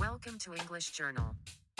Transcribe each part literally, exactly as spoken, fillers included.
Welcome to English Journal.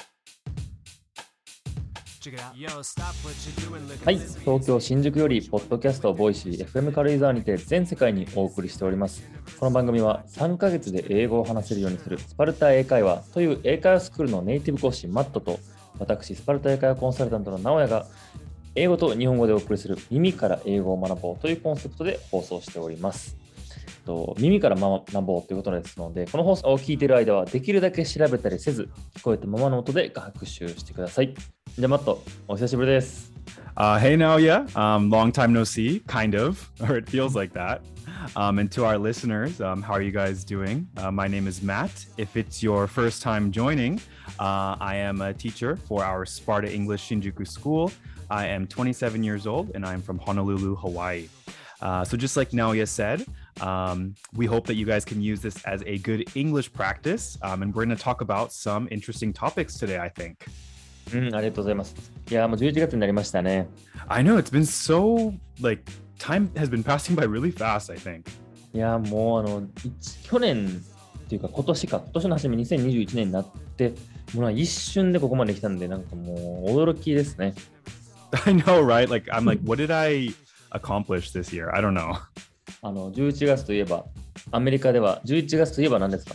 はい、東京新宿よりポッドキャストボイシー エフエム 軽井沢にて全世界にお送りしております。この番組はさんかげつで英語を話せるようにするスパルタ英会話という英会話スクールのネイティブ講師マットと、私スパルタ英会話コンサルタントの直哉が英語と日本語でお送りする耳から英語を学ぼうというコンセプトで放送しております。と耳から学ぼうということですので、この放送を聞いている間はできるだけ調べたりせず、聞こえたままの音で学習してください。じゃあマット、お久しぶりです。 Uh, hey Naoya, um, long time no see, kind of, or it feels like that. Um, and to our listeners, um, how are you guys doing? Uh, my name is Matt. If it's your first time joining, uh, I am a teacher for our Sparta English Shinjuku School. I am twenty-seven years old and I'm from Honolulu, Hawaii. Uh, so just like Naoya said, um, we hope that you guys can use this as a good English practice. Um, and we're going to talk about some interesting topics today, I think. うん、ありがとうございます。いや、もうじゅういちがつになりましたね。 I know, it's been so, like, time has been passing by really fast, I think. いや、もうあの、去年っていうか今年か、今年の初めにせんにじゅういちねんになって、もう一瞬でここまで来たんで、なんかもう驚きですね。 I know, right? Like, I'm like, what did I accomplish this year? I don't know. あの、じゅういちがつといえば、アメリカではじゅういちがつといえば何ですか？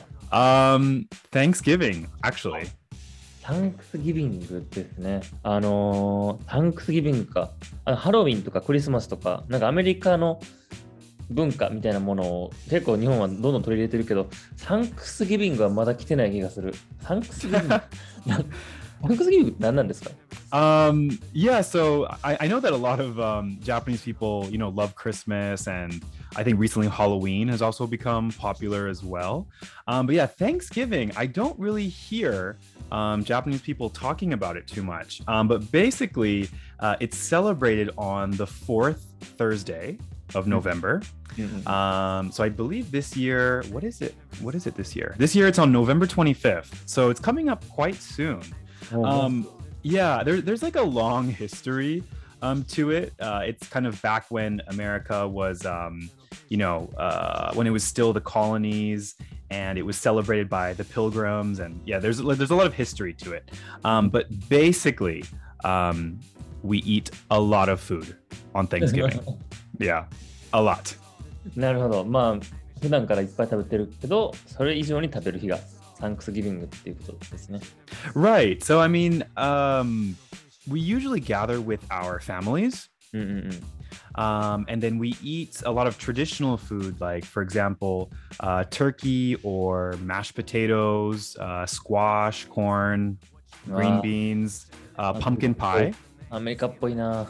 Um, Thanksgiving, actually. タンクスギビングですね。あのー、タンクスギビングか。あのハロウィンとかクリスマスとか、なんかアメリカの文化みたいなものを結構日本はどんどん取り入れてるけど、サンクスギビングはまだ来てない気がする。サンクスギビングタンクスギビングって何なんですか？ Um, yeah, so I, I know that a lot of um, Japanese people, you know, love Christmas, and I think recently Halloween has also become popular as well. Um, but yeah, Thanksgiving, I don't really hear um, Japanese people talking about it too much. Um, but basically, uh, it's celebrated on the fourth Thursday of November. Mm-hmm. Um, so I believe this year, what is it? What is it this year? This year it's on November twenty-fifth. So it's coming up quite soon. Oh, Um, yeah, there, there's like a long history um, to it. Uh, it's kind of back when America was, um, you know, uh, when it was still the colonies, and it was celebrated by the Pilgrims. And yeah, there's there's a lot of history to it. Um, but basically, um, we eat a lot of food on Thanksgiving. Yeah, a lot. なるほど。まあ、普段からいっぱい食べてるけど、それ以上に食べる日がサンクスギビングっていうことですね。 Right. So, I mean, um, we usually gather with our families. うんうんうん。 Um, and then we eat a lot of traditional food, like, for example, uh, turkey or mashed potatoes, uh, squash, corn, green beans, uh, pumpkin pie. アメリカっぽいな。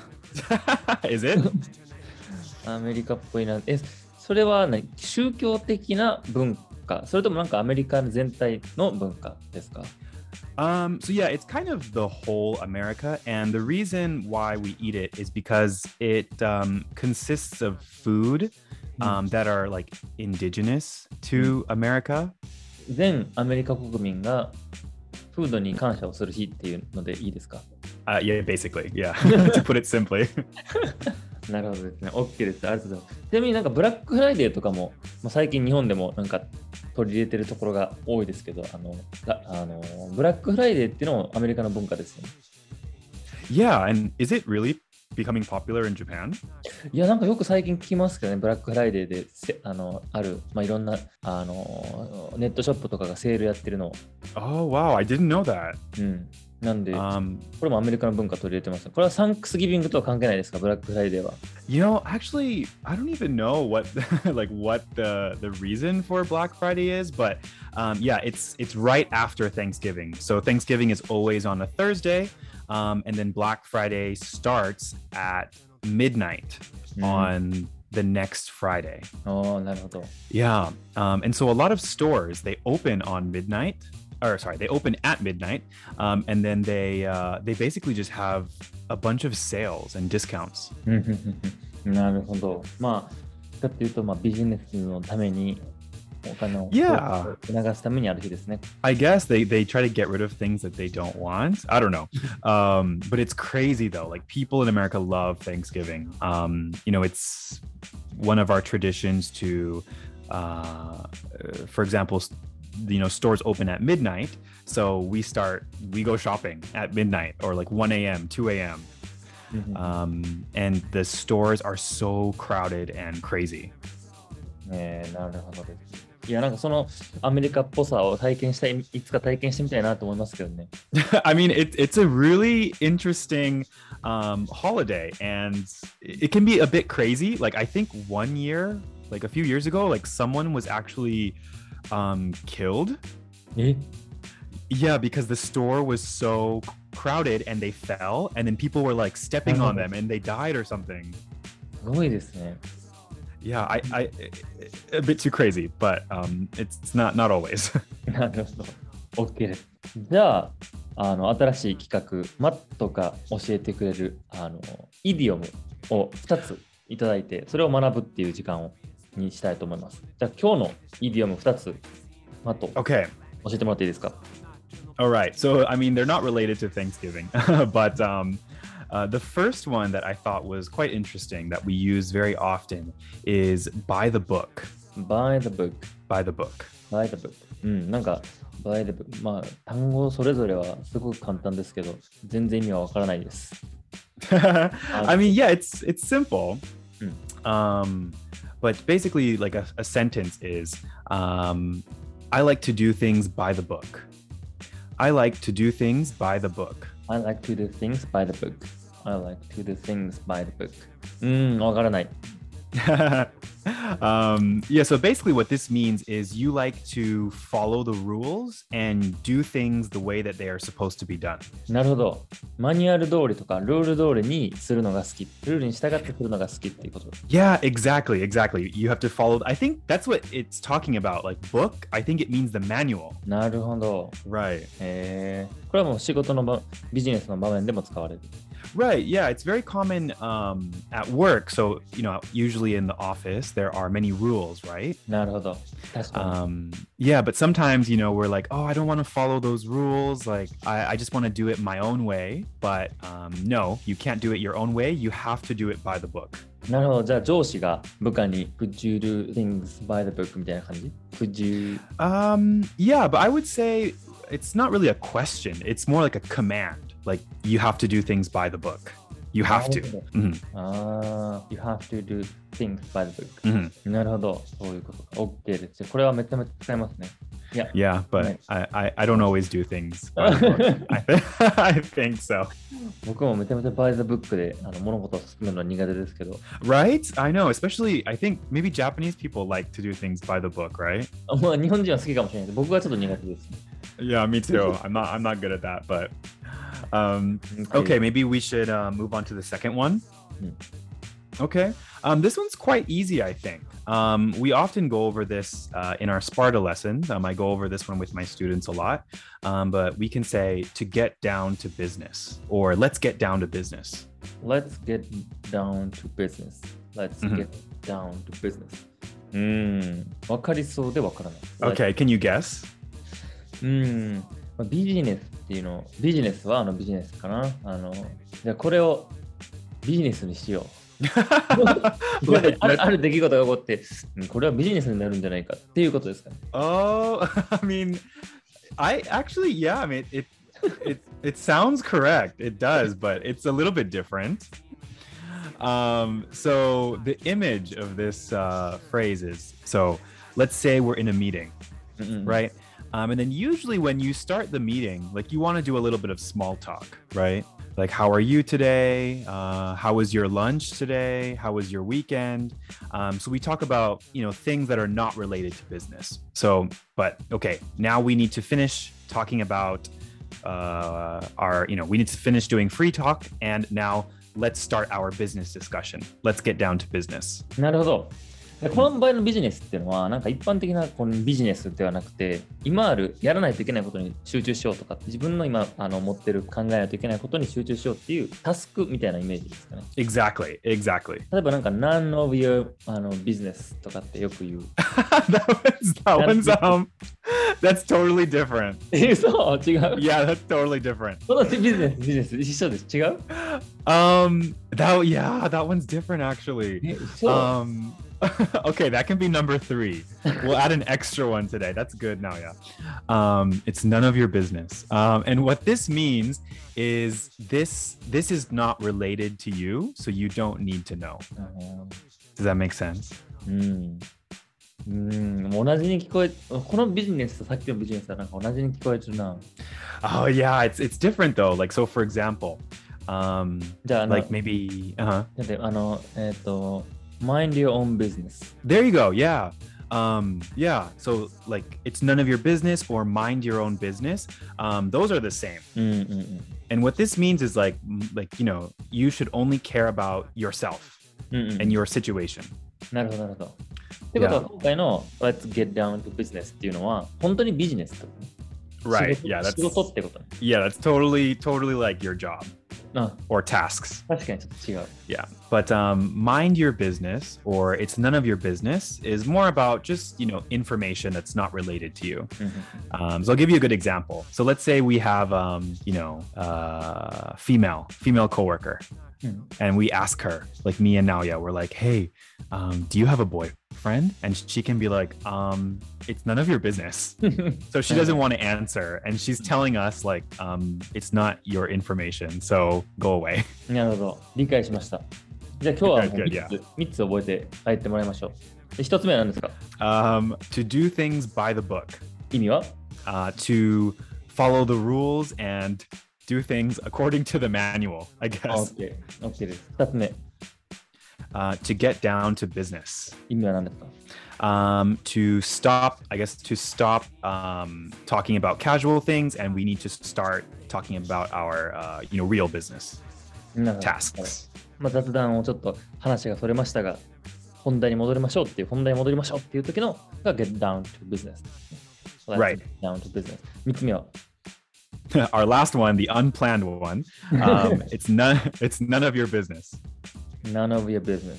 Is it? アメリカっぽいな。え、それは何？宗教的な文化？それともなんかアメリカ全体の文化ですか？ Um, so yeah, it's kind of the whole America, and the reason why we eat it is because it um, consists of food um, that are like indigenous to America. 全アメリカ国民がフードに感謝をする日っていうのでいいですか？ Uh, yeah, basically, yeah. To put it simply. なるほどですね。OK です。ありがとうございます。ちなみになんかブラックフライデーとかも、まあ、最近日本でもなんか取り入れてるところが多いですけど、あの、あのブラックフライデーっていうのもアメリカの文化ですよね。 Yeah, and is it really becoming popular in Japan? いや、なんかよく最近聞きますけどね、ブラックフライデーでせあのある、まあ、いろんなあのネットショップとかがセールやってるのを。 Oh, wow, I didn't know that. うん。なんで、 Um, これもアメリカの文化取り入れてます。これはサンクスギビングとは関係ないですか、ブラックフライデーは。 you know, actually, I don't even know what like what the the reason for Black Friday is, but um, yeah, it's it's right after Thanksgiving. So Thanksgiving is always on a Thursday, um, and then Black Friday starts at midnight Mm. on the next Friday. おー、なるほど。 Yeah, um, and so a lot of stores they open on midnight. Or sorry, they open at midnight, um, and then they uh, they basically just have a bunch of sales and discounts. なるほど。まあ、かっていうと、まあ、ビジネスのためにお金を Yeah. 促すためにある日ですね。 I guess they they try to get rid of things that they don't want. I don't know, um, but it's crazy though. Like people in America love Thanksgiving. Um, you know, it's one of our traditions to, uh, for example, you know, stores open at midnight. So we start, we go shopping at midnight or like one a.m., two a.m. Mhm. Um, and the stores are so crowded and crazy. ねえ、なるほどです。いや、なんかそのアメリカっぽさを体験したい、いつか体験してみたいなと思いますけどね。 I mean, it, it's a really interesting um, holiday, and it can be a bit crazy. Like, I think one year, like a few years ago, like someone was actually um, killed. え Yeah, because the store was so crowded and they fell, and then people were like stepping on them and they died or something. すごいですね。 Yeah, I, I, a bit too crazy, but um, it's, it's not, not always. なるほど。OK です。じゃあ、あの新しい企画、マットが教えてくれるあのイディオムをふたついただいて、それを学ぶっていう時間をにしたいと思います。じゃあ、今日のイディオムふたつ、マット、 Okay. 教えてもらっていいですか？ All right. So, I mean, they're not related to Thanksgiving, but um, uh, the first one that I thought was quite interesting that we use very often is by the book. By the book. By the book. By the book. うん、なんか、by the book。まあ、単語それぞれはすごく簡単ですけど、全然意味はわからないです。 I mean, yeah, it's it's simple. Mm. Um, but basically, like a, a sentence is, um, I like to do things by the book. I like to do things by the book. I like to do things by the book. I like to do things by the book. うーん、わからない。 um, yeah, so basically what this means is you like to follow the rules and do things the way that they are supposed to be done. なるほど。マニュアル通りとかルール通りにするのが好き。ルールに従ってするのが好きっていうこと。 Yeah, exactly, exactly. You have to follow. I think that's what it's talking about. Like book, I think it means the manual. なるほど。 Right. えー、これはもう仕事の場、ビジネスの場面でも使われる。 Right. Yeah, it's very common um, at work. So, you know, usually in the office, there are many rules, right? なるほど。確かに。 Um, yeah, but sometimes, you know, we're like, oh, I don't want to follow those rules. Like, I, I just want to do it my own way. But um, no, you can't do it your own way. You have to do it by the book. なるほど。じゃあ上司が部下に Could you do things by the book みたいな感じ？ Could you? Um, yeah, but I would say it's not really a question. It's more like a command. Like, you have to do things by the book. You have to. なるほど。 Mhm. ああ、You have to do things by the book. Mhm. なるほど。そういうことか。OK です。これはめちゃめちゃ使いますね。いや、 Yeah, but Nice. I, I, I don't always do things by the book. I, th- I think so. 僕もめちゃめちゃ by the book であの物事を進めるのは苦手ですけど、 Right? I know, especially I think maybe Japanese people like to do things by the book, right? あまあ日本人は好きかもしれないけど、僕はちょっと苦手です。 Yeah, me too. I'm not I'm not good at that, but um okay, maybe we should uh, move on to the second one. Hmm. Okay. Um, this one's quite easy, I think. Um, we often go over this uh, in our Sparta lessons. Um, I go over this one with my students a lot. Um, but we can say to get down to business or let's get down to business. Let's get down to business. Let's Mhm. get down to business. うーん、わかりそうでわからない。 Okay, can you guess? うーん、まあビジネスっていうの、ビジネスはあのビジネスかな。あの、じゃあこれをビジネスにしよう。 Let- ある let- ある出来事が起こって、うんこれはビジネスになるんじゃないかっていうことですかね。 Oh, I mean, I actually, yeah, I mean, it, it, it sounds correct. It does, but it's a little bit different. Um, so the image of this uh, phrase is, so let's say we're in a meeting, うんうん right? Um, and then usually when you start the meeting, like you want to do a little bit of small talk, right? Like, how are you today? Uh, how was your lunch today? How was your weekend? Um, so we talk about, you know, things that are not related to business. So, but okay, now we need to finish talking about uh, our, you know, we need to finish doing free talk. And now let's start our business discussion. Let's get down to business. なるほど。でこの場合のビジネスっていうのは、なんか一般的なこのビジネスではなくて、今あるやらないといけないことに集中しようとか、自分の今あの持ってる考えないといけないことに集中しようっていうタスクみたいなイメージですかね。 Exactly. Exactly. 例えばなんか none of your あのビジネスとかってよく言う。 that one's, that one's, um, that's totally different. え、そう違う Yeah, that's totally different. このビジネス、ビジネス一緒です。違う Um, that, yeah, that one's different actually. え、そう、 Um, Okay, that can be number three. We'll add an extra one today. That's good now, yeah. Um, it's none of your business. Um, and what this means is this this is not related to you, so you don't need to know. Does that make sense? うん。うん、同じに聞こえ、このビジネスとさっきのビジネスはなんか同じに聞こえてるな。 Oh yeah, it's it's different though. Like so, for example, um, じゃあ、 like maybe, uh-huh. だってあの、えっ、ー、と、mind your own business. There you go. Yeah. Um, yeah. So like it's none of your business or mind your own business. Um, those are the same. うんうんうん。 And what this means is like, like, you know, you should only care about yourself うんうん、 and your situation. なるほど、なるほど。ってことは、今回の Let's get down to business っていうのは、本当にビジネスってことね。 Right. Yeah. That's 仕事ってことね。 Yeah. That's totally, totally like your job あ、 or tasks. 確かにちょっと違う。 Yeah. But um, mind your business or it's none of your business is more about just, you know, information that's not related to you. Um, so I'll give you a good example. So let's say we have, um, you know, uh, female, female coworker. And we ask her, like me and Naoya, we're like, hey, um, do you have a boyfriend? And she can be like, um, it's none of your business. So she doesn't want to answer. And she's telling us like, um, it's not your information. So go away. なるほど。理解しました。じゃあ今日はもう Good, 3 yeah. つ、みっつ覚えて帰ってもらいましょう。でひとつめは何ですか？ Um, to do things by the book. 意味は？ Uh, to follow the rules and do things according to the manual, I guess. OK。OK です。ふたつめ。 Uh, to get down to business. 意味は何ですか？ Um, to stop, I guess, to stop um, talking about casual things, and we need to start talking about our, uh, you know, real business なるほど。 tasks. まあ、雑談をちょっと話がそれましたが、本題に戻りましょうっていう、本題に戻りましょうっていう時のが get down to business。 Right. Get down to business。みっつめは？ Our last one, the unplanned one, um, it's none, it's none of your business. None of your business.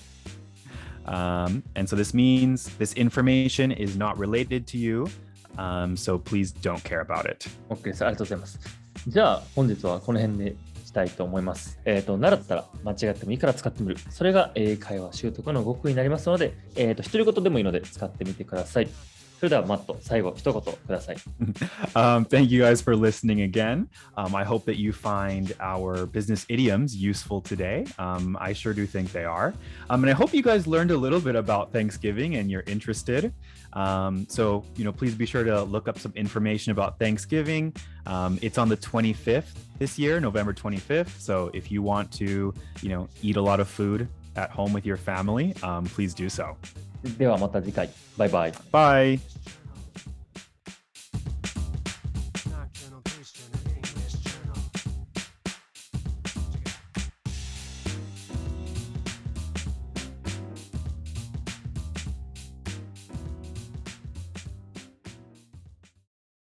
Um, and so this means this information is not related to you. Um, so please don't care about it. OK です。ありがとうございます。じゃあ本日はこの辺でしたいと思います。えっ、ー、と、習ったら間違ってもいいから使ってみる。それが英会話習得の極意になりますので、えっ、ー、と、独り言でもいいので使ってみてください。それではマット、最後一言ください。 um, thank you guys for listening again. Um, I hope that you find our business idioms useful today. Um, I sure do think they are. Um, and I hope you guys learned a little bit about Thanksgiving and you're interested. Um, so, you know, please be sure to look up some information about Thanksgiving. Um, it's on the twenty-fifth this year, November twenty-fifth. So if you want to, you know, eat a lot of food at home with your family, um, please do so. ではまた次回。バイバイ。 Bye.